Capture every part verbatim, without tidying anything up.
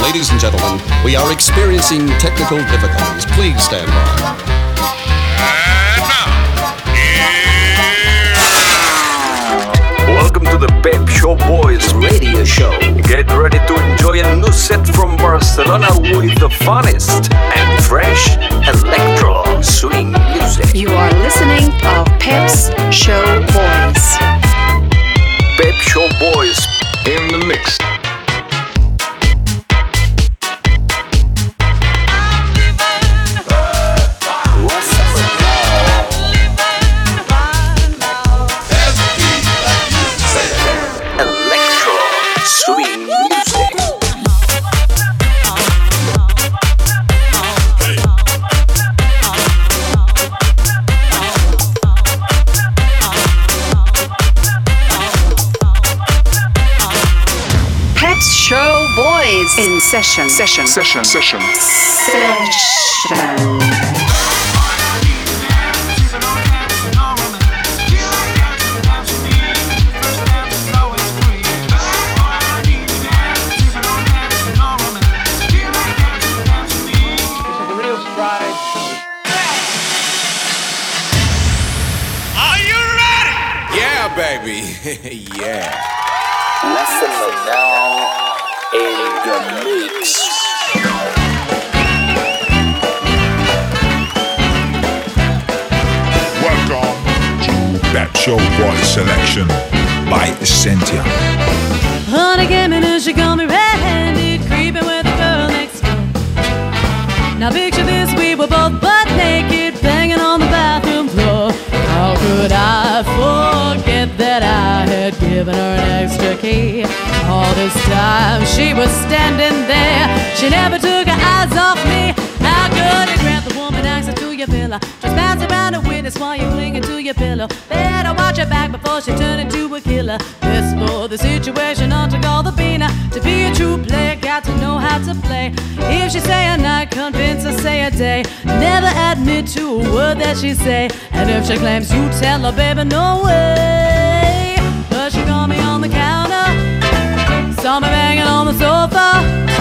Ladies and gentlemen, we are experiencing technical difficulties. Please stand by. And now, Welcome to the Pep Show Boys radio show. Get ready to enjoy a new set from Barcelona with the funnest and fresh electro swing music. You are listening to Pep's Show Boys. Pep Show Boys in the mix. In session, session, session, session, session. are you ready? Yeah, baby. Yeah. Listen now. In the mix. Welcome to Pep Show Boys Selection by Essentia. Honey came in and she got me red-handed, creeping with the girl next door. Now picture this, we were both butt naked, banging on the bathroom floor. How could I forget that I had given her an extra key? All this time she was standing there, she never took her eyes off me. How could it grant the woman access to your pillow? Just pass around a witness while you're clinging to your pillow. Better watch her back before she turn into a killer. This for the situation, not to call the beaner. To be a true player, got to know how to play. If she say a night, convince her say a day. Never admit to a word that she say. And if she claims you tell her, baby, no way. But she called me on the counter, saw me banging on the sofa.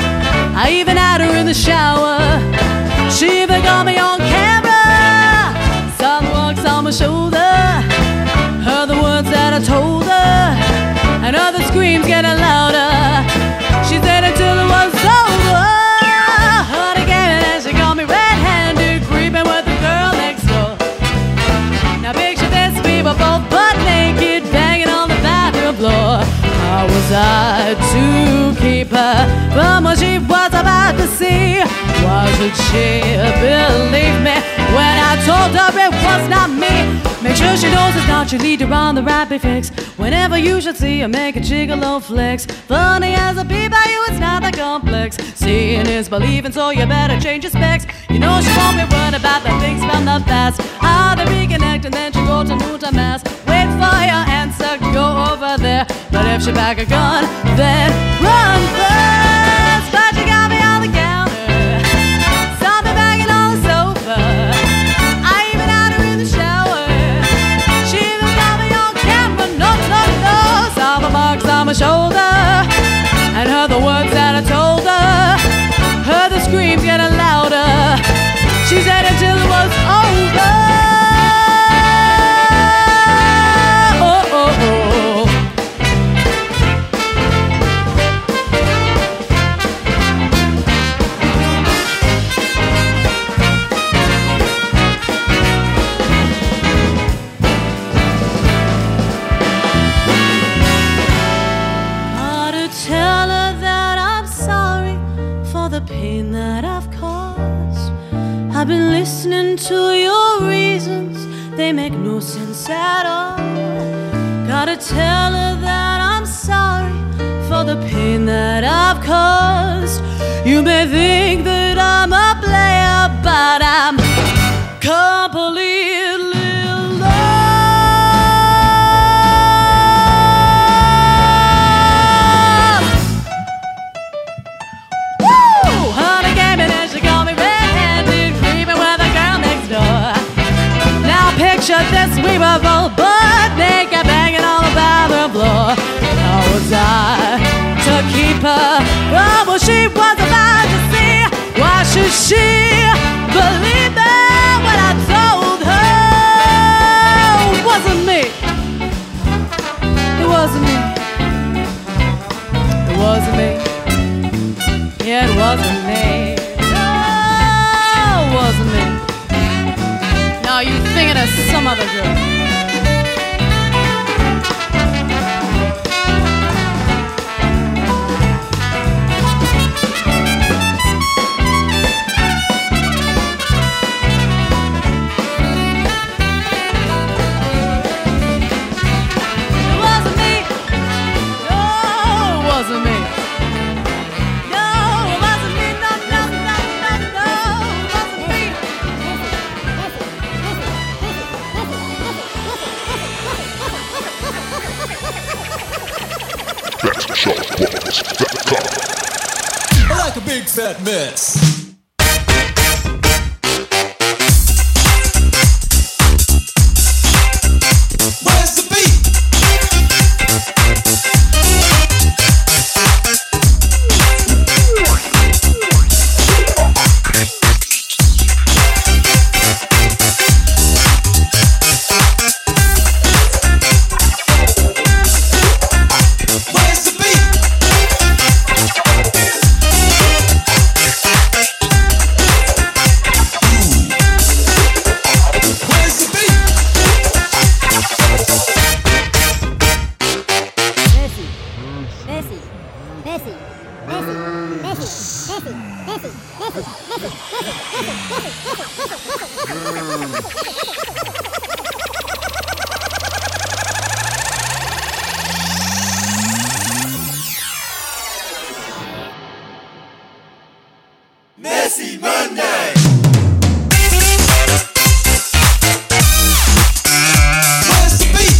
I even had her in the shower. She even got me on camera. Saw the looks on my shoulder, heard the words that I told her, and heard the screams getting louder. She said until it was over. Heard again and she got me red-handed, creeping with the girl next door. Now picture this, we were both butt naked, banging on the bathroom floor. How was I to keep her from what she was about to see? Why should she believe me when I told her it was not me? Make sure she knows it's not your leader on the rapid fix. Whenever you should see her make a gigolo flex. Funny as a bee by you, it's not that complex. Seeing is believing, so you better change your specs. You know she won't be worried about the things from the past. How they reconnect and then she go to Muta Mass. Wait for your answer, go over there. But if she back a gun, then run first. But you got me on the counter, saw me banging on the sofa. I even had her in the shower. She even got me on camera, no, no, no. Saw the marks on my shoulder, and heard the words that I told her. Heard the screams getting louder. She said until it was over. Pain that I've caused. I've been listening to your reasons, they make no sense at all. Gotta tell her that I'm sorry for the pain that I've caused. You may think that I'm a player, but I'm completely picture this, we were both butt naked, banging on the bathroom floor. How was I to keep her from what she was about to see. Why should she believe me when I told her it wasn't me? It wasn't me. It wasn't me. Yeah, it wasn't me. No, it wasn't me. Now you thinking of some other girl. Like a big fat mess. Where's the beat? Messy Monday. Where's the beat?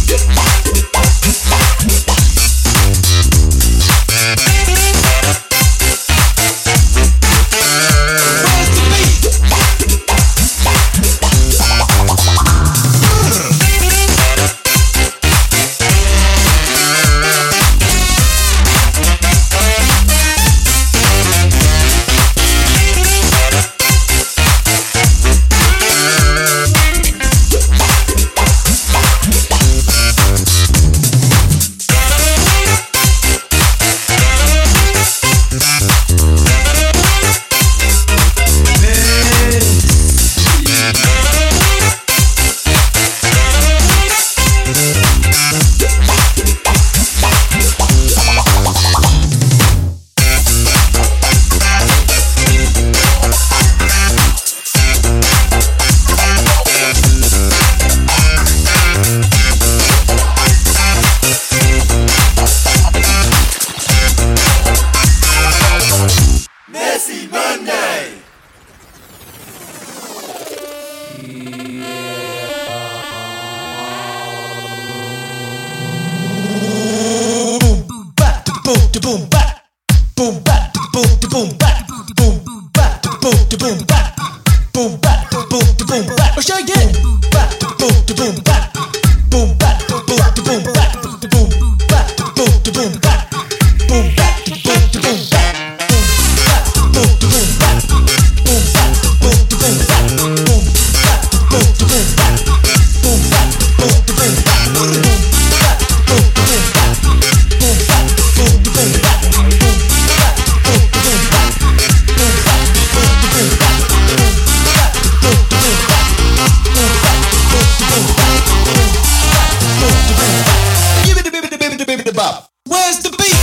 Where's the beat?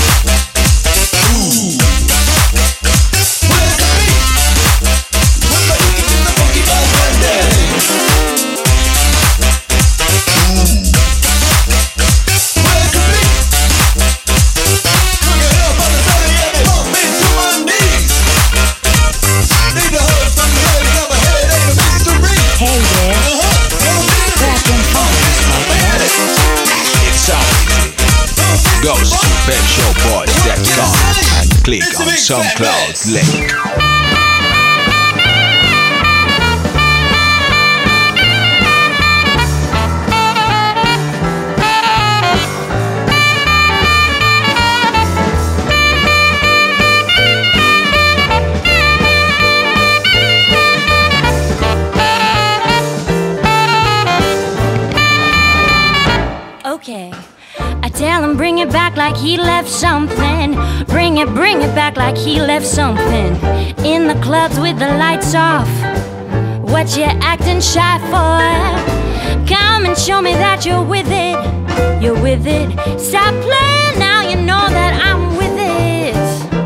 Ooh. Where's the beat? When my ears in the funky vibe Monday. Ooh. Where's the beat? Look it up on the belly and it bump into my knees. Need to hug from the legs of my head ain't a mystery. Hey there. Uh-huh. Back in Paris, my man. It's all easy. Go to pet show boys dot com and click on SoundCloud link. like he left something. Bring it, bring it back like he left something. In the clubs with the lights off, what you acting shy for? Come and show me that you're with it. You're with it. Stop playing now, you know that I'm with it.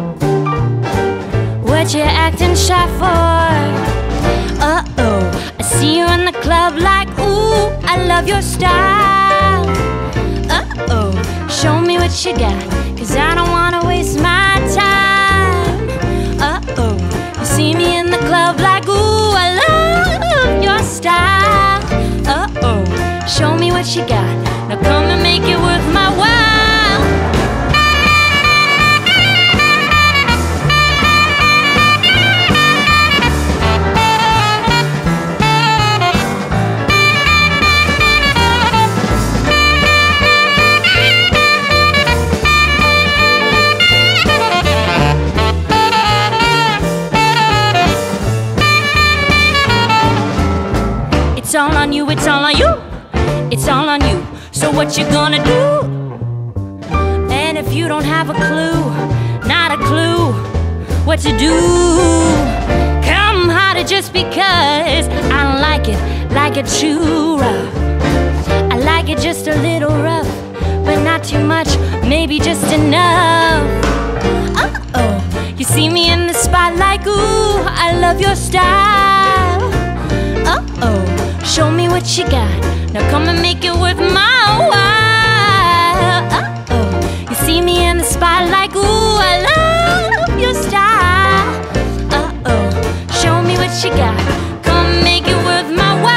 What you acting shy for? Uh-oh, I see you in the club like, ooh, I love your style. Uh-oh, show me what you got, cause I don't wanna waste my time. Uh-oh, you see me in the club like, ooh, I love your style. Uh-oh, show me what you got, now come and make it worth my while. It's all on you, it's all on you, it's all on you. So what you gonna do? And if you don't have a clue, not a clue, what to do? Come harder just because I don't like it, like it too rough. I like it just a little rough, but not too much, maybe just enough. Uh-oh, you see me in the spotlight, ooh, I love your style. Uh-oh, show me what you got, now come and make it worth my while. Uh-oh, you see me in the spotlight, ooh, I love your style. Uh-oh, show me what you got, come and make it worth my while.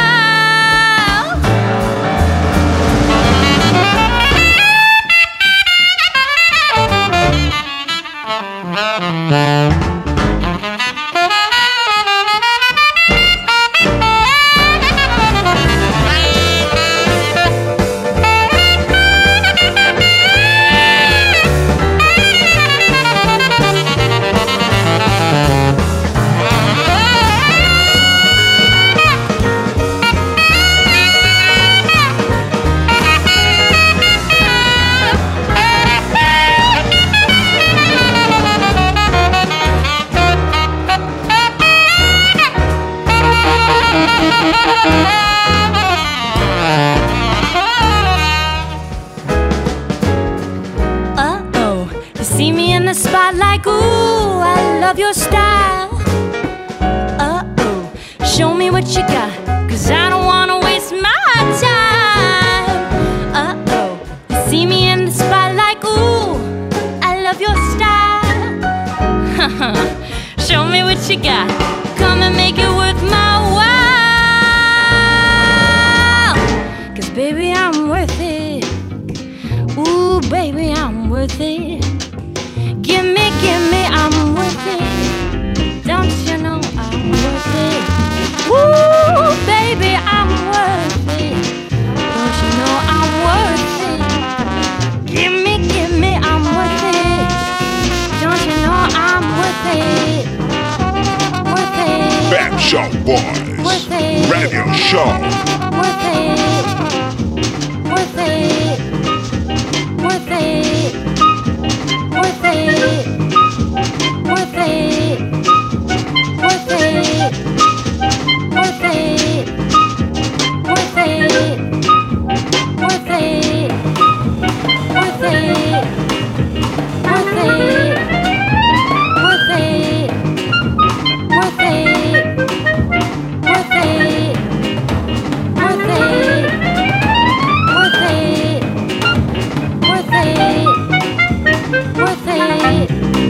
Uh-oh, you see me in the spotlight, ooh, I love your style. Uh-oh, show me what you got, cause I don't wanna waste my time. Uh-oh, you see me in the spotlight, ooh, I love your style. Show me what you got, come and make it worth my while. Cause baby, I'm worth it. Ooh, baby, I'm worth it. Give me, give me, I'm worth it. Don't you know I'm worth it? Ooh, baby, I'm worth it. Don't you know I'm worth it? Give me, give me, I'm worth it. Don't you know I'm worth it? Worth it. Pet Shop Boys Worth it. Radio Show. Worth it. Worth it. Worth it. Worth it. Worth it. Worth it. Worth it. Worth it. Worth it. Worth it. Worth it. Worth it. Worth it. Worth it. Worth it. Worth it. Worth it. Worth it.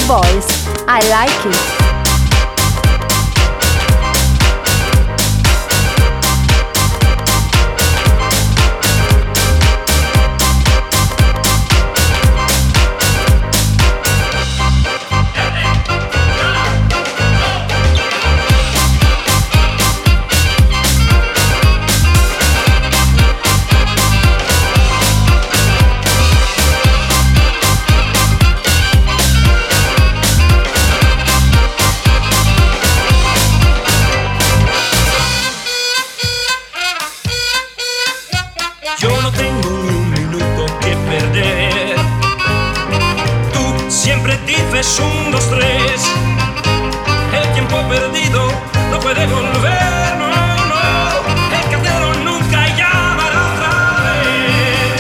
voice. I like it. Es un, dos, tres. El tiempo perdido no puede volver, no, no. El cartero nunca llamará otra vez.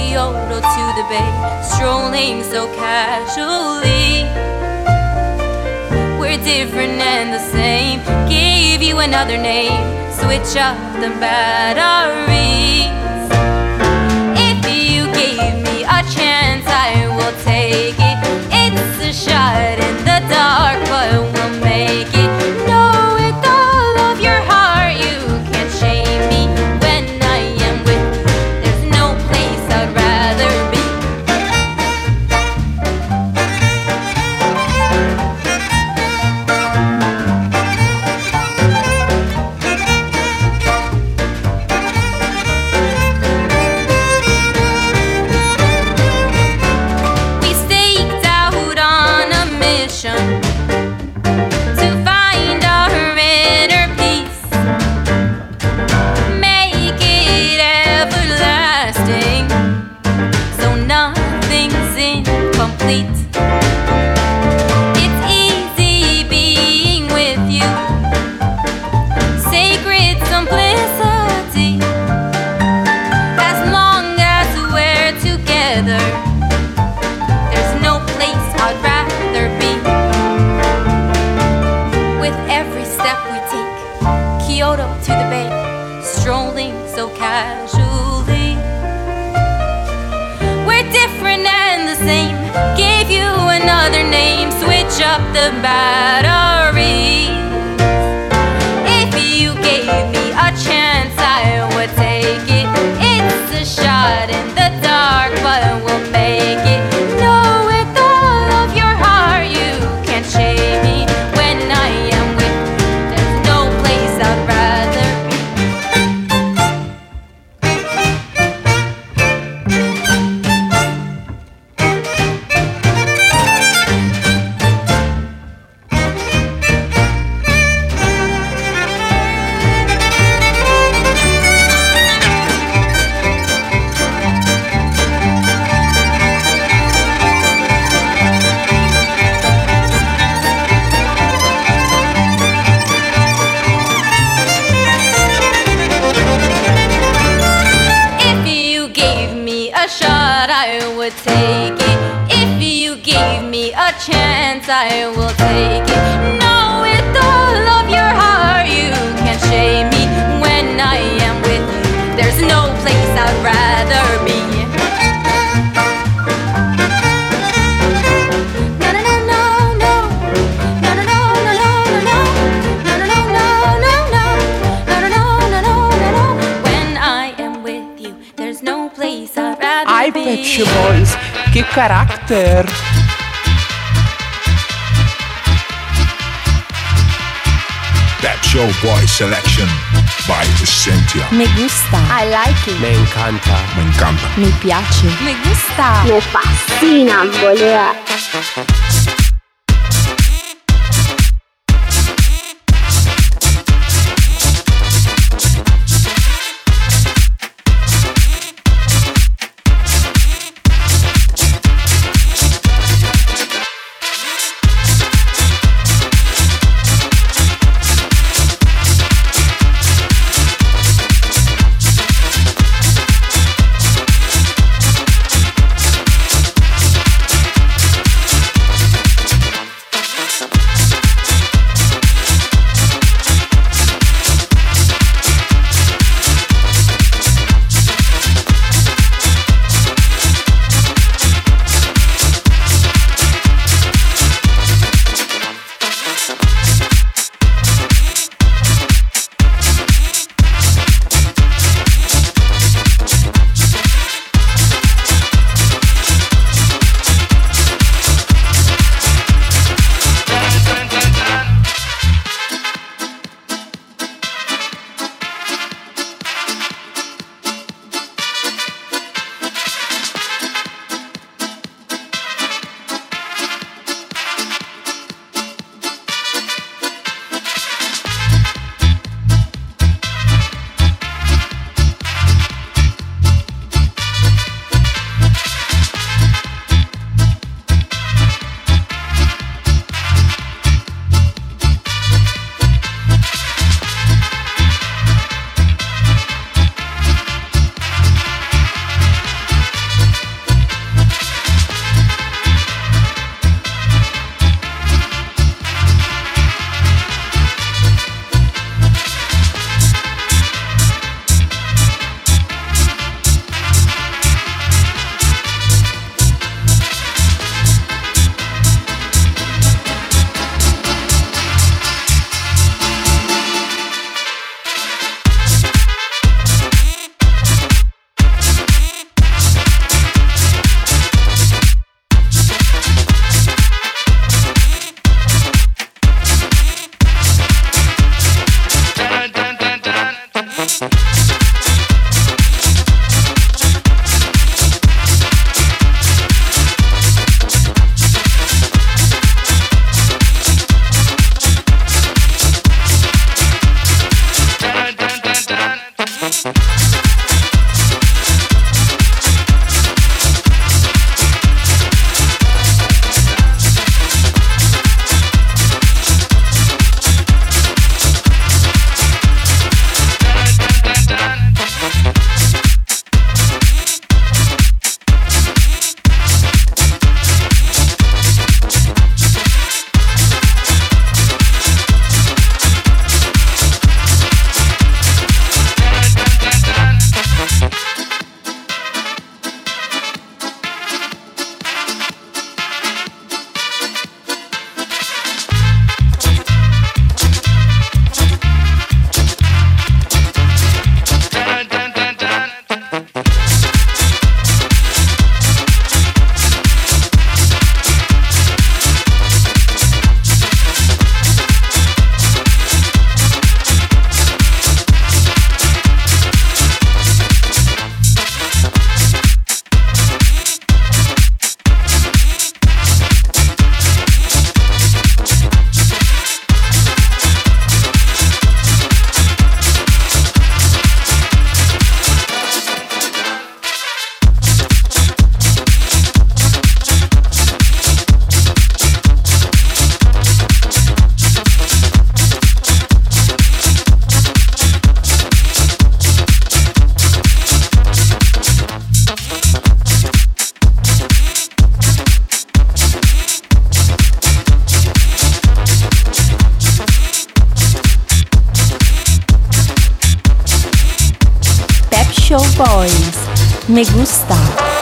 Kyoto to the bay, strolling so casually. We're different and the same. Gave you another name, switch up the batteries. If you gave me a chance, I will take it. It's a shot in the dark, but we'll make it. Know with all of your heart, you can't shame me when I am with you. There's no place I'd rather be. We staked out on a mission to find our inner peace, make it everlasting, so nothing's incomplete. It's easy being with you, sacred simplicity. As long as we're together, there's no place I'd rather be. With every step we take, Kyoto to the bay, strolling so casually. We're different and the same. Gave you another name, switch up the batteries. If you gave me a chance, I would take it. It's a shot in the dark, but we'll make it. Know with all of your heart, you can't shame me when I am with you. There's no place I'd rather be. If you gave me a shot, I would take it. If you gave me a chance, I will take it. Know with all of your heart, you can't shame me when I am with you. There's no place I'd rather be. No, no, no, no, no. No, no, no, no, no, no, no. No, no, no, no, no, no. No, no, no, no, no, no, no. When I am with you, there's no place I'd rather Ai, be. Pet Shop Boys, que carácter! That Show Boy Selection by Cynthia. Me gusta. I like it. Me encanta. Me encanta. Mi piace. Me gusta. Me fascina, boluda. Boys. Me gusta.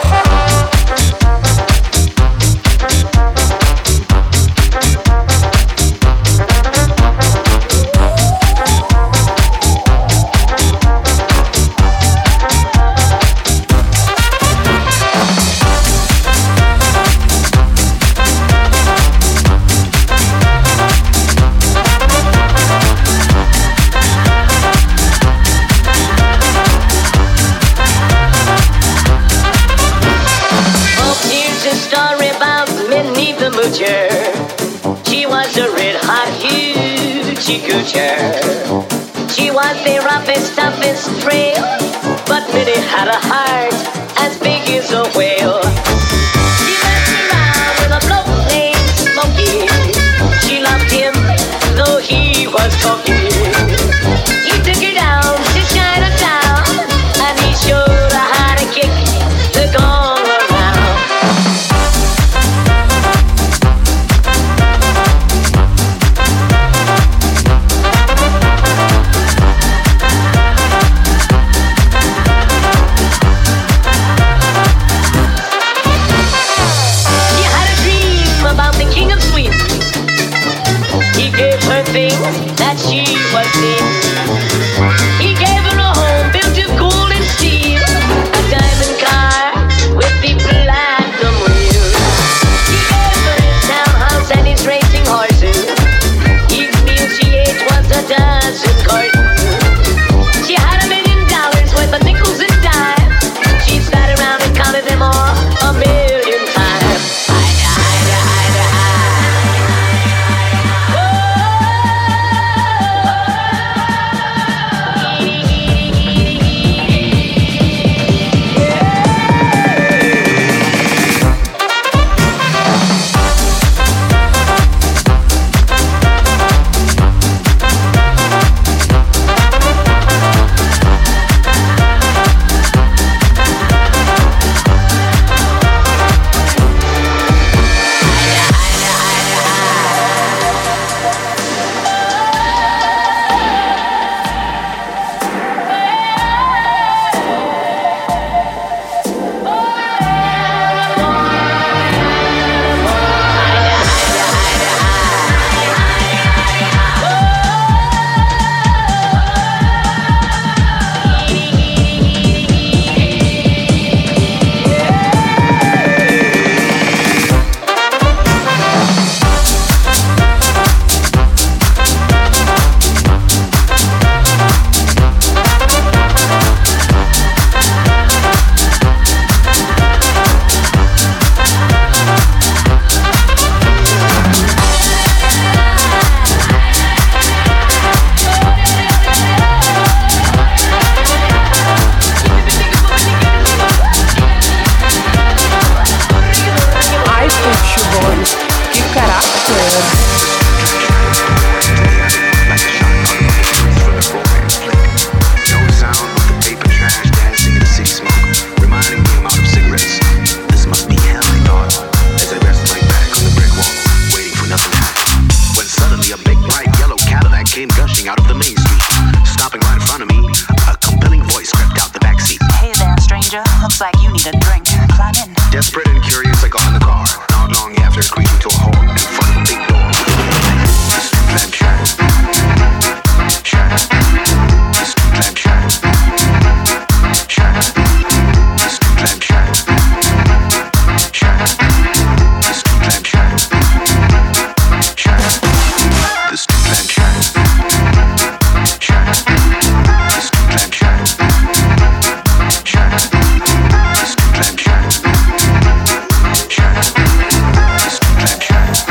She was a red hot hoochie coocher. She was the roughest, toughest trail, but Minnie had a heart as big as a whale. She messed around with a bloke named Smokey. She loved him, though he was funky. He took her down to Chinatown, and he showed her how to kick the gong around. That she was in. He gave her a home built of gold and steel, a diamond car with the platinum wheels. He gave her his townhouse and his racing horses. Each meal she ate was a dozen courses. She had a million dollars worth of nickels and dimes. She sat around and counted them all a million times. Hida, hida, hida, hida. Try.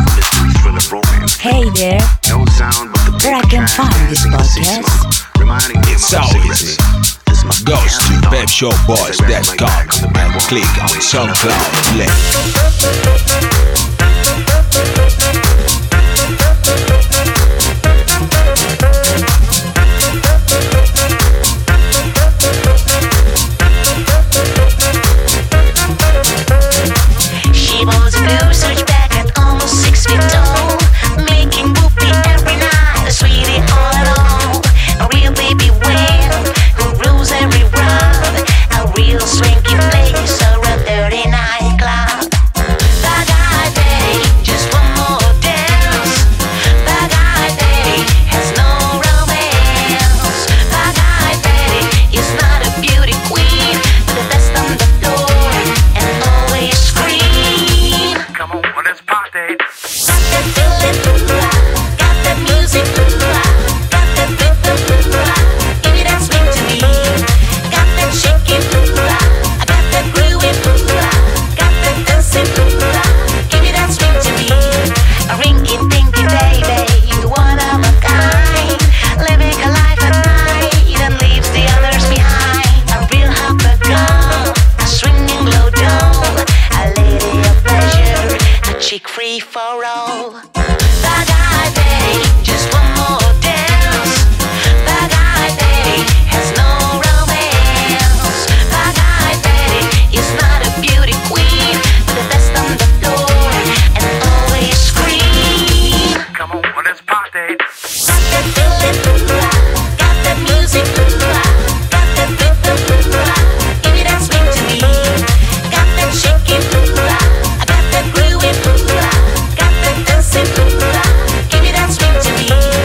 Hey there, where I can find this podcast? It's so easy. Goes to pep show boys dot com and click on SoundCloud link. She was a blue switchback at almost six feet tall, making whoopee every night, a sweetie all along. A real baby whale who rules every world, a real swanky place or a dirty nightclub. Bye-bye Betty, just one more dance. Bye-bye Betty has no romance. Bye-bye Betty is not a beauty queen, but the best on the floor and always scream. Come on, let's party. Got that feeling, got that music, got that rhythm, give me that swing to me. Got that shaking, I got that grooving, got that dancing, give me that swing to me. A rinky-dinky baby, one of a kind, living a life at night and leaves the others behind. A real hopper girl, a swinging low down, a lady of pleasure, a chick free for all. Bye-bye Betty, just one more dance. Bye-bye Betty has no romance. Bye-bye Betty is not a beauty queen, but the best on the floor and always scream. Come on, let's party. Got that feeling, got that music, got that rhythm, give me that swing to me. Got that shaking, I got that grooving, got that dancing, give me that swing to me.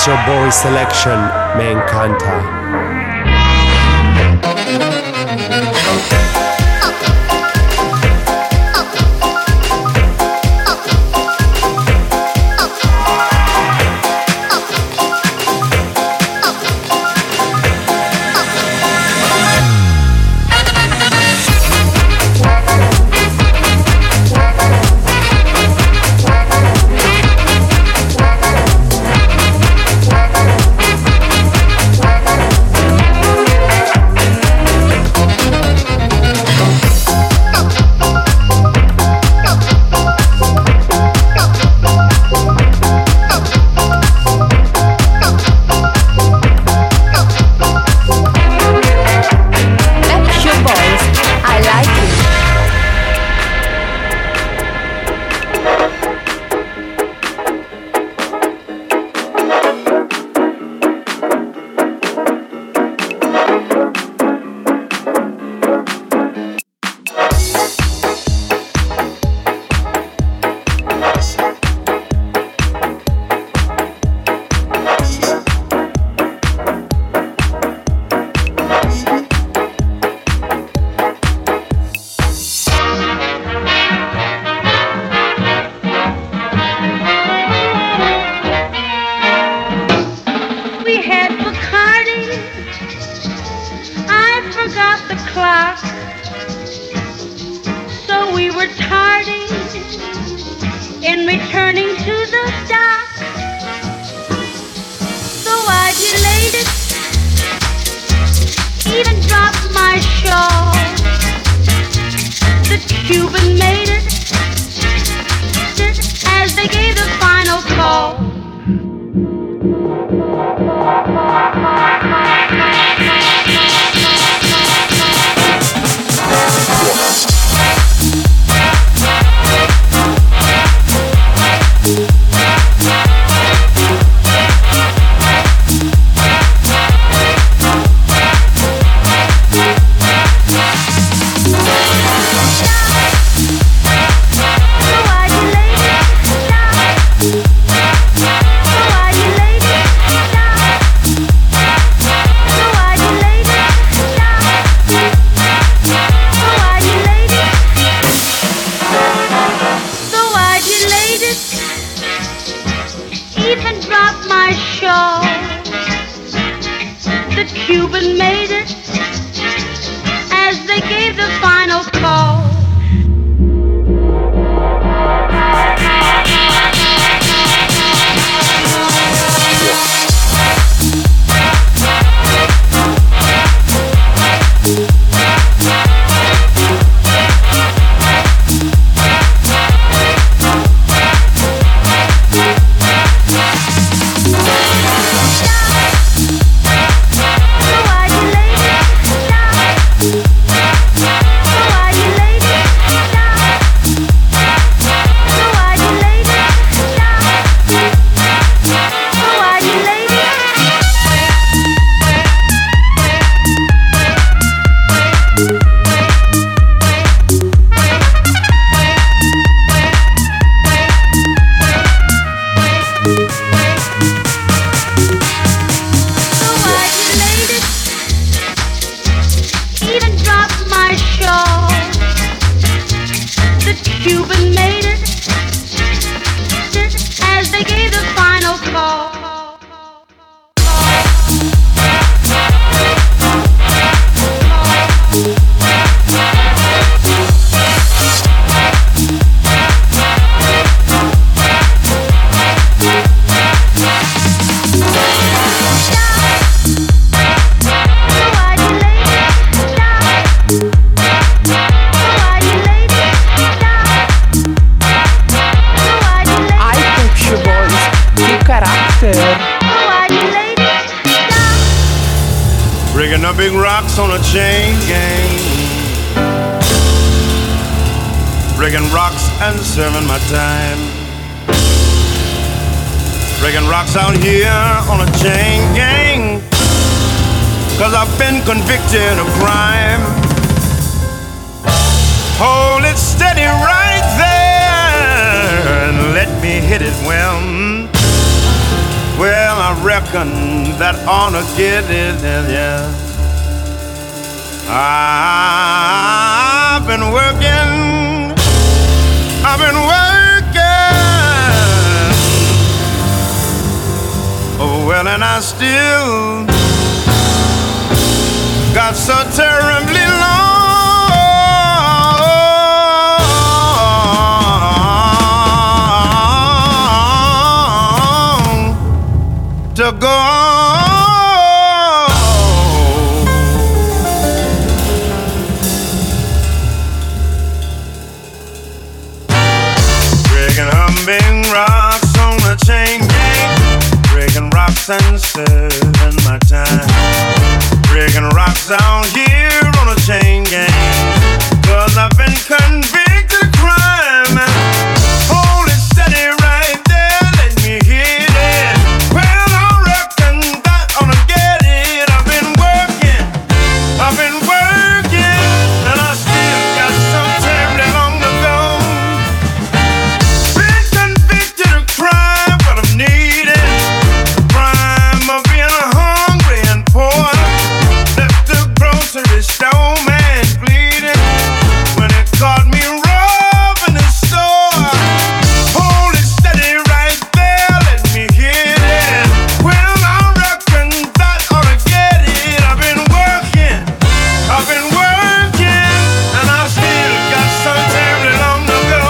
Show Boy Selection me encanta. Breaking up big rocks on a chain gang, breaking rocks and serving my time, breaking rocks out here on a chain gang, cause I've been convicted of crime. Hold it steady right there and let me hit it well. Well, I reckon reckon that ought to get it, yeah. I've been working, I've been working, oh well, and I still got so terribly long to go on. Breaking humming rocks on the chain gang, breaking rocks and serving my time. Breaking rocks down here on a chain gang, 'cause I've been convicted of crime. Hold it steady right there, let me hit it. Well, I reckon that ought to get it. I've been working, I've been working, and I still got some terribly long to go. Been convicted of crime, but I'm needed. The crime of being hungry and poor. Grocery store man bleeding when it caught me robbing the store. Hold it steady right there, let me hit it. Well, I reckon that ought to get it. I've been working, I've been working, and I still got some terribly long to go.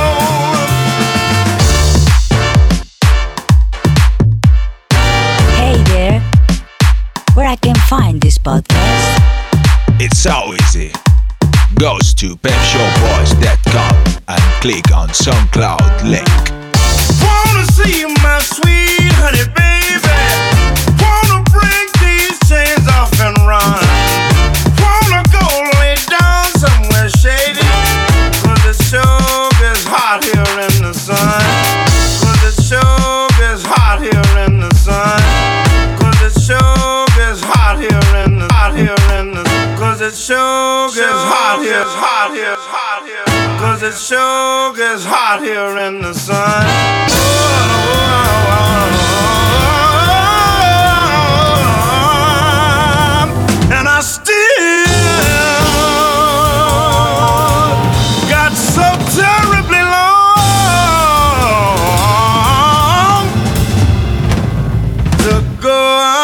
Hey there, where I can find this podcast? It's so easy. Goes to pep show boys dot com and click on SoundCloud link. Wanna see my sweet honey baby. Wanna break these chains off and run. Wanna go lay down somewhere shady, 'cause it sure gets hot here in the sun. 'Cause it sure gets hot here in the sun. 'Cause it sure gets hot here in the hot here in the 'Cause it sure gets hot here, hot here, hot here. 'Cause it sure gets hot here in the sun. Oh, oh, oh, and I still got so terribly long to go on.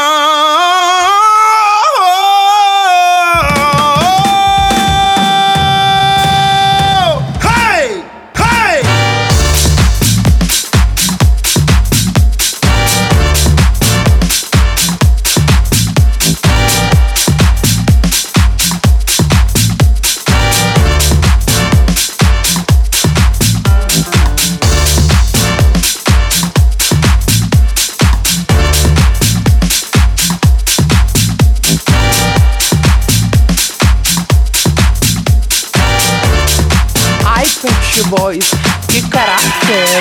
Boys, che carattere!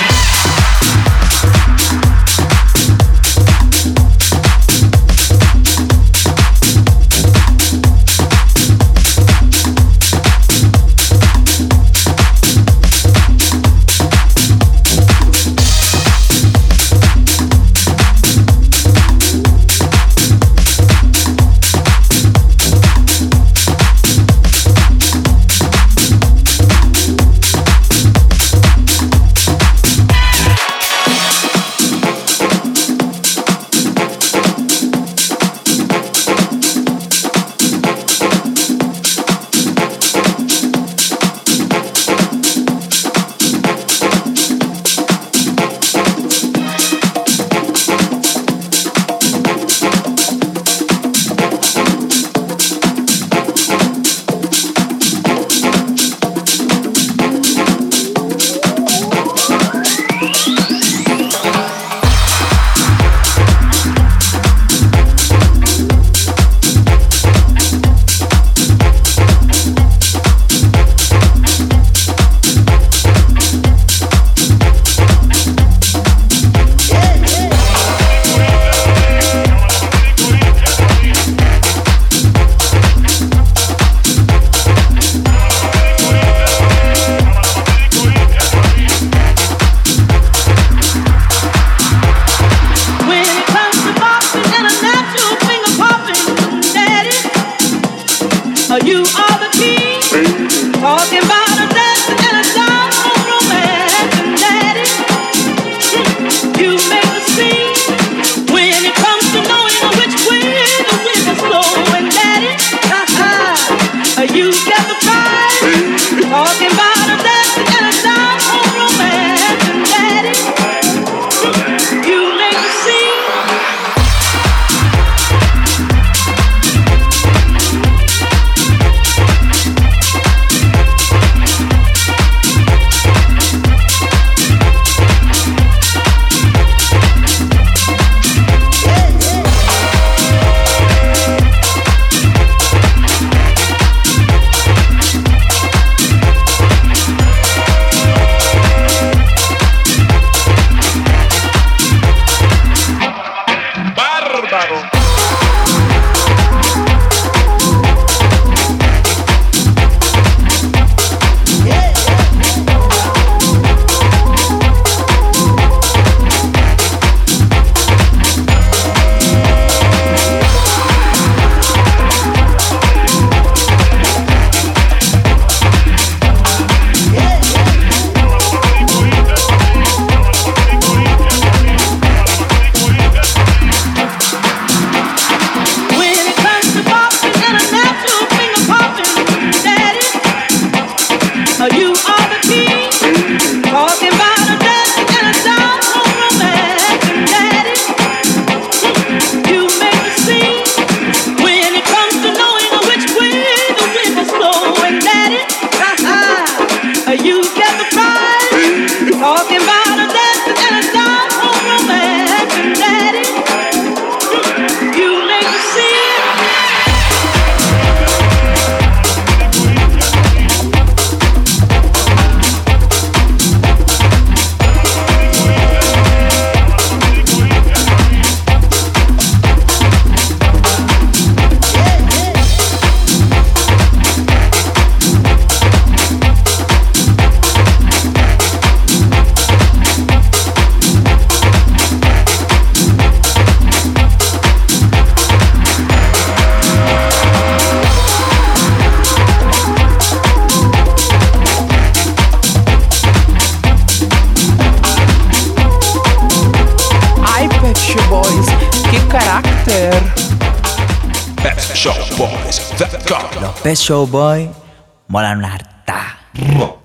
You get the prize. Talking about a dancing and a dime home romance, Daddy. You make me see it. Pet Shop Boys punto com. Los Pet Shop Boys molan una harta.